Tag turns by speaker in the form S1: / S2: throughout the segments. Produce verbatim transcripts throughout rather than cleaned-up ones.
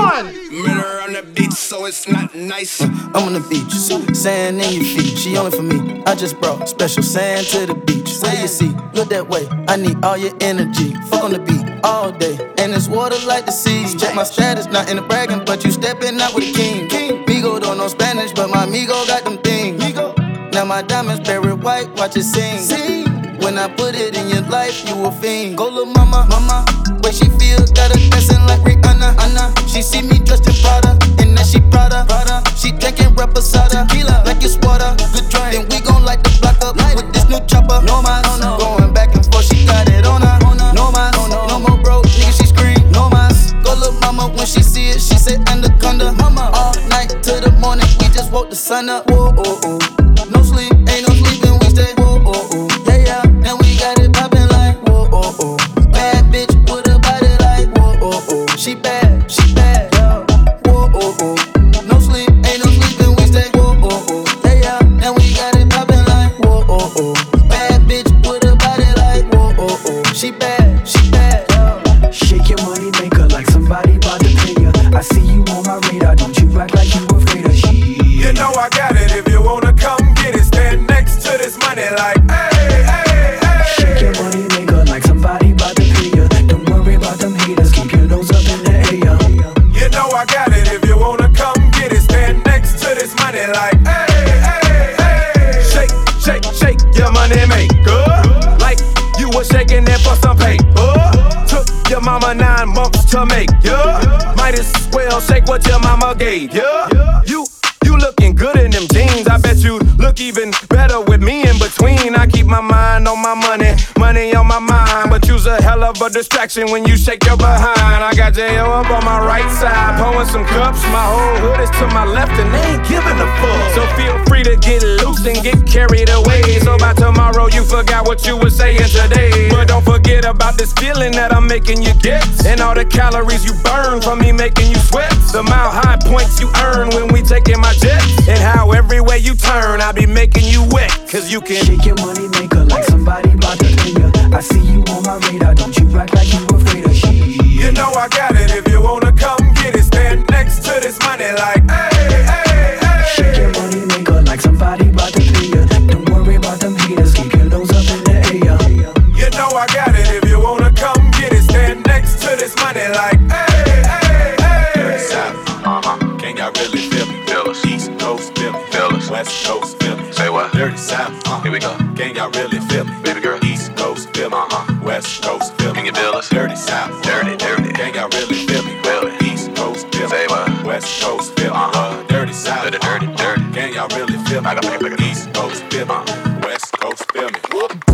S1: one.
S2: Murder on the beach, so it's not nice.
S3: Uh, I'm on the beach, sand in your feet. She only for me. I just brought special sand to the beach. What do you see? Look that way. I need all your energy. Fuck on the beat all day, and it's water like the sea. Check my status, not in the bragging, but you stepping out with a king. King. Migo don't know Spanish, but my Migo got them things. Migo. Now my diamonds buried white, watch it sing. sing. When I put it in your life, you a fiend. Go little mama, mama. Way she feel, got her dancing like Rihanna, Anna. She see me dressed in Prada, and then she Prada, Prada. She drinking reposada, tequila like it's water. Good drink, then we gon' light the block up with this new chopper. No mas, no, no. Going back and forth, she got it on her. No mas, no, no, no more broke, nigga, she scream. No mas, go little mama when she see it, she say anaconda. Mama, all night till the morning, we just woke the sun up. Whoa, oh, oh. No sleep, ain't no sleeping, we stay. Whoa, oh, oh. Yeah, yeah, and we got it poppin' like whoa, oh, oh. Bad bitch with a body like whoa, oh, oh. She bad, she bad, yeah. Whoa, oh, oh. No sleep, ain't no sleeping, we stay. Whoa, oh, oh. Yeah, yeah, and we got it poppin' like whoa, oh, oh. Bad bitch with a body like whoa, oh, oh. She bad, she bad, yeah.
S4: Shake your money maker like somebody about to pay ya. I see you on my radar, don't you act like you afraid of shit.
S5: You know I got it, if you wanna come get it, stand next to this money like hey, hey, hey.
S4: Shake your money maker like somebody about to pay ya. Don't worry about them haters, keep your nose up in the air.
S5: You know I got it, if you wanna come get it, stand next to this money like hey, hey, hey. Shake, shake, shake your money maker like you was shaking it for some paper. Took your mama nine months to make ya. Might as well shake what your mama gave ya. You You looking good in them jeans. I bet you look even better with me in between. I keep my mind on my money, money on my mind. But you's a hell of a distraction when you shake your behind. I got J O up on my right side, pouring some cups. My whole hood is to my left and they ain't giving a fuck. So feel free to get loose and get carried away. So by tomorrow you forgot what you were saying today. But don't forget about this feeling that I'm making you get, and all the calories you burn from me making you sweat. The mile high points you earn when we taking my jet, and how every way you turn I be making you wet. Cause you can
S4: shake your money maker like somebody about to pay ya. I see you on my radar, don't you act like you afraid of shit.
S5: You know I got it, if you wanna come get it, stand next to this money like hey, hey, hey.
S4: Shake your money maker like somebody about to pay ya. Don't worry about them haters, keep your nose up in the air.
S5: You know I got it, if you wanna come get it, stand next to this money like hey, hey, hey.
S6: Dirty South, uh-huh. Can y'all really feel me? Feel us. East Coast, feel me. Feel us. West Coast, feel me. Say what? Dirty South, uh-huh. Here we go. Can y'all really feel me? Baby girl. East Coast, feel me. Uh-huh. West Coast, feel me. Can you feel us? Dirty South, dirty, dirty. Can y'all really feel me? Feel it. East Coast, feel me. Say what? West Coast, feel me. Uh-huh. Dirty South, dirty, dirty, dirty. Can y'all really feel me? I got me. East Coast, feel me. Uh-huh. West Coast, feel me.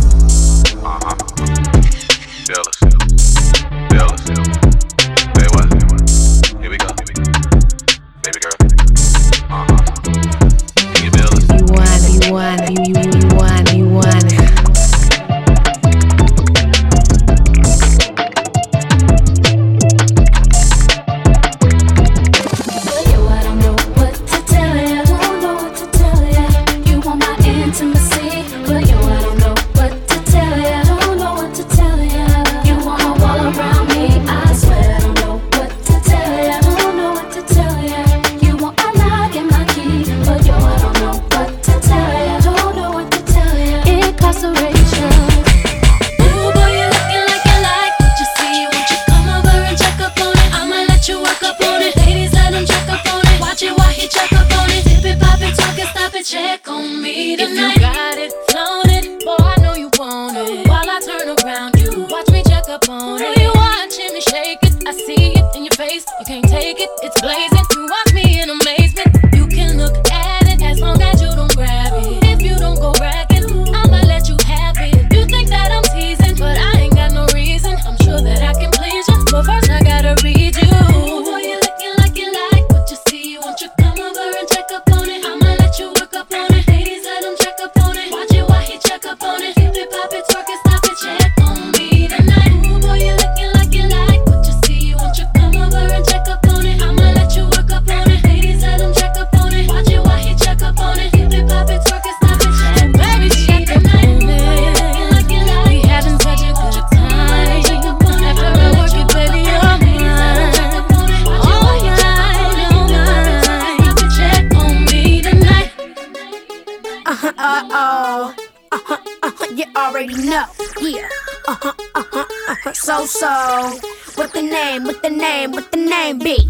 S6: Uh-huh. Feel us. Feel us. Say what? Here we go. Baby girl. Uh-huh. Can you feel us?
S7: You want, you want, you, you, you want, you want.
S8: Check on me tonight. If you got it, flown it, boy, I know you want it. While I turn around, you watch me check up on it. You watching me shake it, I see it in your face. You can't take it, it's blazing. You watch me in amazement. You can look at it as long as you don't grab it. If you don't go bragging, I'ma let you have it. You think that I'm teasing, but I ain't got no reason. I'm sure that I can please you, but first I gotta read you. Ooh, boy, you're looking like you like what you see. Won't you come over and check up on it? I'ma let you work up on it. Ladies, let him check up on it. Watch it while he check up on it. Keep it, pop it, twerk it, stop it, check on me tonight. Ooh, boy, you're looking like you like what you see. Won't you come over and check up on it? I'ma let you work up on it. Ladies, let him check up on it. Watch it while he check up on it. Keep it, pop it, twerk it, stop it, check. Baby,
S1: already know. Yeah, uh huh, uh huh, uh huh. So so, what the name? What the name? What the name be?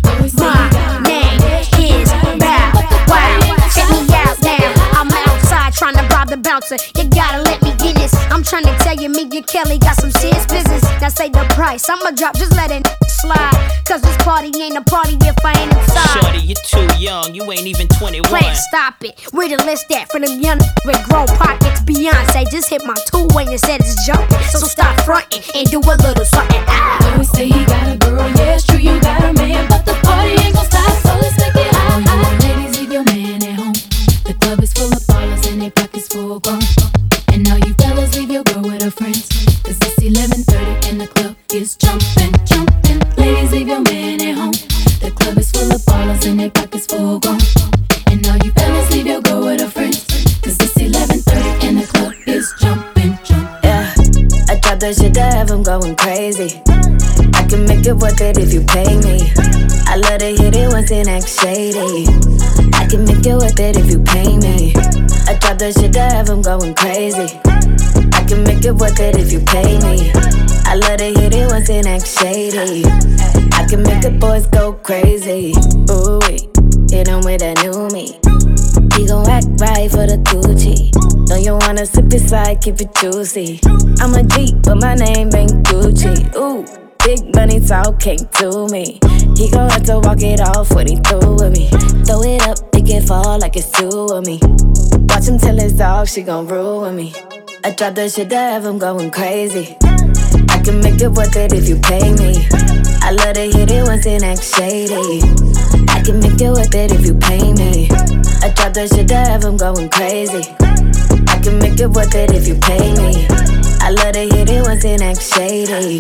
S1: My name is Bow Wow. Check me out now. I'm outside trying to rob the bouncer. You gotta let me get this. I'm trying to tell you, me and Kelly got some serious business. Now say the price, I'ma drop, just let it slide. Cause this party ain't a party if I ain't inside.
S9: Shorty, you're too young, you ain't even twenty-one.
S1: Plan, stop it. Where the list at for them young with grown pockets? Beyonce just hit my two-way and said it's jumping. So stop fronting and do a little something. Ah.
S8: Always say he got a girl, yeah, it's true, you got a man, but the party ain't gon' stop, so let's make it hot. All you ladies, leave your man at home. The club is full of ballers and their pockets full grown. And all you fellas, leave your girl with her friends. Cause it's eleven thirty and the club is jumping, jumping. Ladies, leave your man at home. The club is full of ballers and their pockets full grown. And all you fellas, leave your girl with her friends. Cause it's eleven thirty and the club is jumping, jumping.
S10: Yeah, I drop that shit to have them going crazy. I can make it worth it if you pay me. I love to hit it once and act shady. I can make it worth it if you pay me. I drop that shit to have them going crazy. I can make it worth it if you pay me. I love to hit it once and act shady. I can make the boys go crazy. Ooh, hit them with that new me. He gon' act right for the Gucci. Know you wanna sip inside, keep it juicy. I'm a G, but my name ain't Gucci. Ooh, big money talking to me. He gon' have to walk it off when he through with me. Throw it up, make it fall like it's two of me. Watch him tell his dog she gon' ruin me. I drop that shit to have him going crazy. I can make it worth it if you pay me. I love to hit it once and act shady. I can make it worth it if you pay me. I drop that shit to have him going crazy. I can make it worth it if you pay me. I love to hit it once and act shady.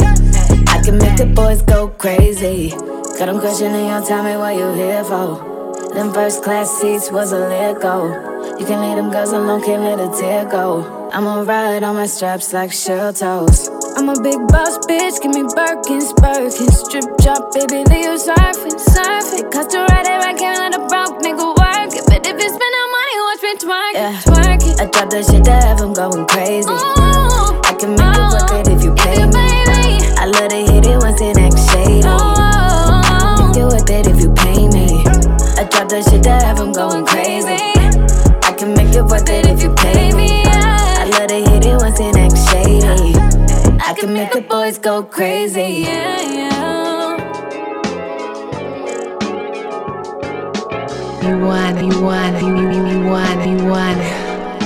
S10: I can make the boys go crazy. Got them questioning your timing, what you here for? Them first class seats was a let go. You can leave them girls alone, can't let a tear go. I'ma ride on my straps like shell toes. I'm a big boss bitch, give me Birkins, Birkins. Strip drop, baby, leave you surfing, surfing. Cost to ride it, I can't let a broke nigga work it. But if you spend no money, watch me twerk it, yeah. Twerk it. I drop that shit to have him going crazy. Ooh, I can make ooh, it worth it if you pay you me. me. I love to hit it once and act shady. Ooh, make it worth it if you pay me. I drop that shit to have him going crazy. I can make it worth it if you pay me. I love to hit it once and act shady. I can make the boys go crazy. Yeah, yeah.
S7: You wanna, you wanna, you, you, you wanna, you wanna.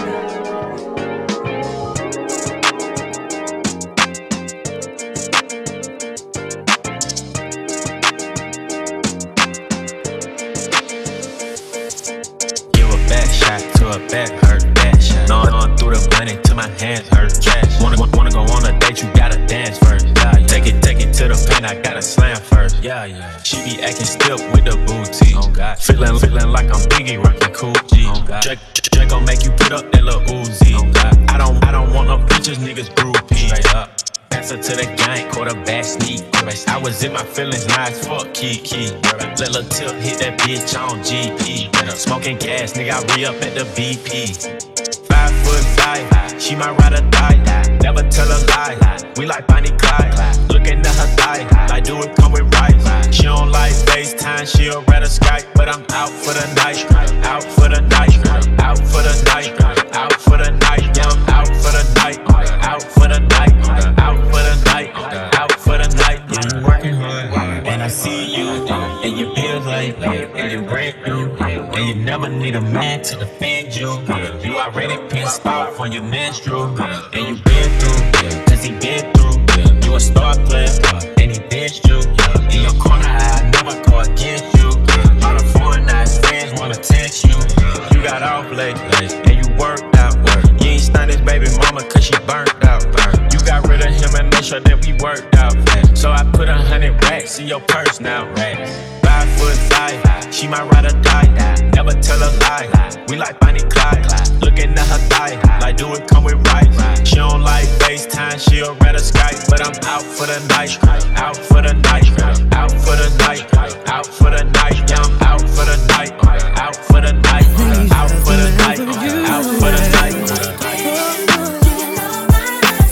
S6: Back hurt, back shot. No, on through the money till my hands hurt. Cash. Wanna, wanna go on a date, you gotta dance first. Yeah, yeah. Take it, take it to the paint, I gotta slam first. Yeah, yeah. She be acting stiff with the booty. Oh God. Feeling, feeling like I'm Biggie, rockin' cool G. Oh God. Drake, Drake gon' make you put up that little Uzi. Oh God. I don't, I don't want no bitches, niggas brew P. Straight up. Answer to the gang, quarterback sneak. I was in my feelings, nice fuck, key, key. Let Lil Tip hit that bitch on G P. Smoking gas, nigga, I re up at the B P. Five foot five, she might ride or die. Never tell a lie, we like Bonnie Clyde. Looking at her thigh, like do it come with rice. She don't like FaceTime, she'll rather Skype. But I'm out for the night, out for the night, out for the night, out for the night. Yeah, I'm out for the night, out for the night, out for the night, out for the night. Yeah, you working hard, and I see you, and you feel like, and you break through, and you never need a man to defend you. You already pissed off on your menstrual, and you been through, cause he been through. You a star player, and he ditched you. In your corner, I never go against you. All the foreign nice friends wanna text you. You got off late, and you worked out. You ain't stunned his baby mama cause she burnt out. You got rid of him and made sure that we worked out. So I put a hundred racks in your purse now. Five foot five, she might ride or die. Never tell a lie, we like Bonnie Clyde. Looking at her thigh, like do it come with rice. She don't like FaceTime, she'll rather Skype. But I'm out for the night, out for the night, out for the night, out for the night. Yeah, I'm out for the night, out for the night, out for the night, out for the night.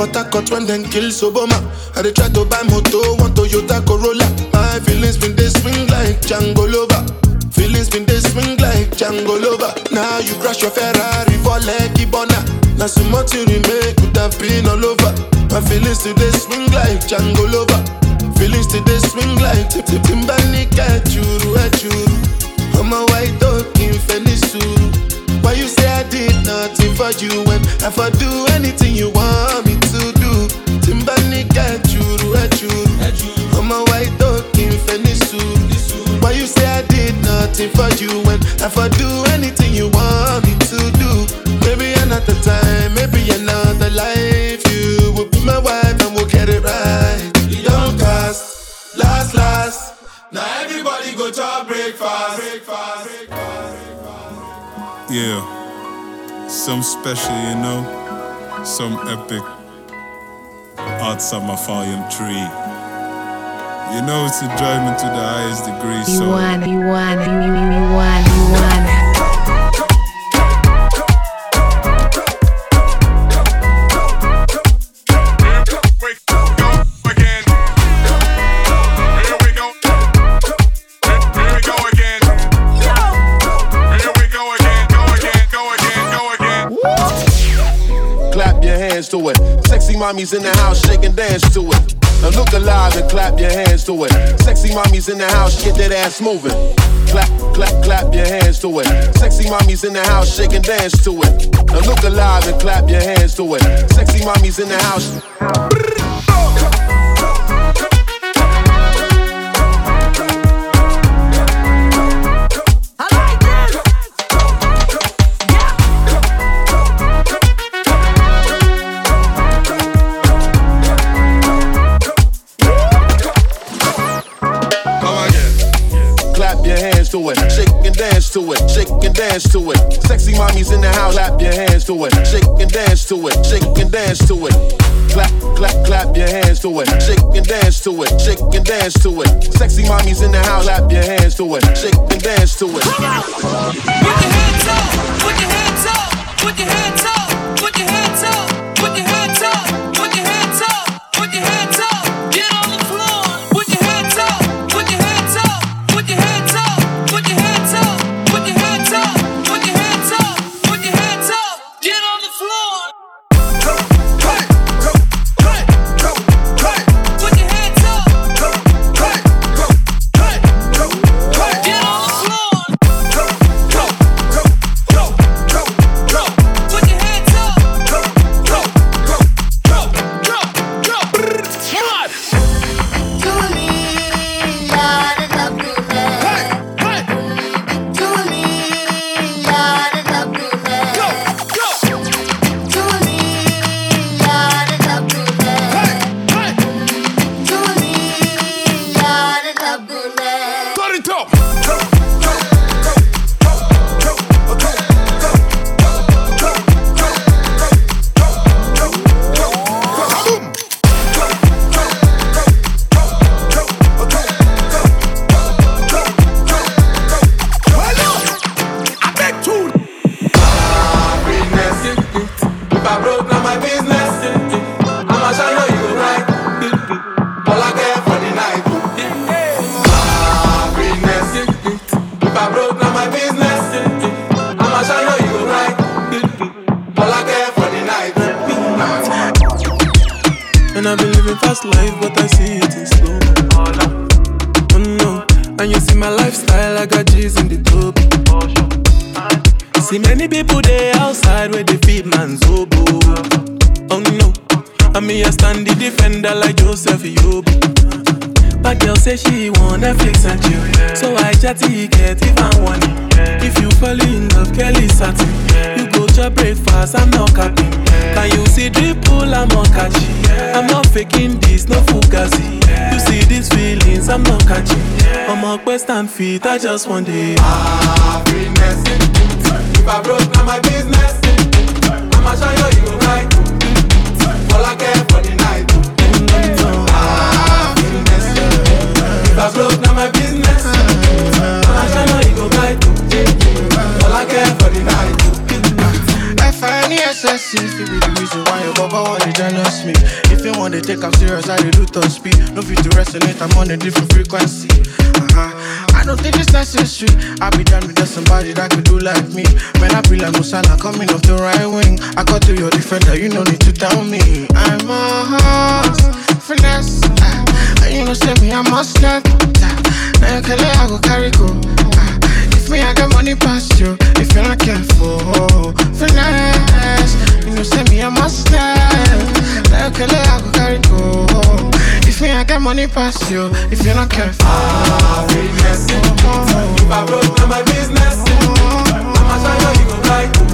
S11: Port Harcourt when them kill Soboma. I dey try to buy moto, one Toyota Corolla. My feelings been they swing like Django Lover. Feelings been they swing like Django Lover. Now you crash your Ferrari for Leggy Bona. Now so much you remake could have been all over. My feelings today swing like Django Lover. Feelings today swing like Tip Tip Timbani Kachuru Achuru. I'm a white dog in Fenisuru. Why you say I did nothing for you when I for do anything you want me to do? Timbani Kachuru Achuru. I'm a white dog in Fenisuru. Why you say I did nothing for you when I for do anything you want me to do? Maybe another time, maybe another life. You will be my wife and we'll get it right. You don't cast, last, last. Now everybody go to breakfast. breakfast.
S12: Yeah, some special, you know, some epic. Art Summer Volume three. You know it's enjoyment to the highest degree, so...
S7: You want, you want, you, you, you want, you want.
S13: To it. Sexy mommies in the house, shake and dance to it. Now look alive and clap your hands to it. Sexy mommies in the house, get that ass moving. Clap, clap, clap your hands to it. Sexy mommies in the house, shake and dance to it. Now look alive and clap your hands to it. Sexy mommies in the house. To it, shake and dance to it, shake and dance to it. Sexy mommies in the house, clap your hands to it, shake and dance to it, shake and dance to it. Clap, clap, clap your hands to it, shake and dance to it, shake and dance to it. Sexy mommies in the house, clap your hands to it, shake and dance to it. Put your hands up, put your hands up, put your hands up, put your hands up, put your hands up, put your hands up, put your hands up, get on the floor. Put your hands up, put your hands up, put your hands up. Put your hands up, put your hands up, put your hands up, put your hands up, get on the floor. Go, hey, go, hey, go, hey, put your hands up, go, hey, go, hey, go, hey, get on the floor. Go, go, go, go, go, go, put your hands up, go, go, go, go, go, go. What?
S14: And I've been living fast life, but I see it in slow. Oh no, and you see my lifestyle, I got G's in the tub. See many people there outside where they feed man's oboe. Oh no, and me I stand the defender like Joseph Yobo. My girl say she want Netflix and chill, so I chatty get even one. If you fall in love, Kelly satin. You go to breakfast, I'm not capping. Can you see dripple, I'm not catchy. I'm not faking this, no fugazi. You see these feelings, I'm not catching. I'm a quest and feet, I just want it. Happiness. If I broke, now my business. I'ma show you, you go right. All I care for the night. Happiness. If I broke, now my business. I'ma show you, you go right. All I care for the night.
S11: F I N E S S E, feel be the reason why your baba wanna jealous me.
S15: they take I'm serious, I they do top speed. No fit to resonate, I'm on a different frequency. Uh-huh. I don't think it's necessary. I be done with just somebody that could do like me. When I be like Musala coming off the right wing, I got to your defender, you no need to tell me. I'm a horse, finesse. Uh, and you know, say me, I must not. Now you can let I go carry go. Uh, if me, I got money past you. If you're not careful, finesse. You know, say me, I must not. Now you can let I go carry go. If me, I got money past you. If you're not careful,
S5: ah, finesse. If I broke, now my business. I'ma show you, you gon' like.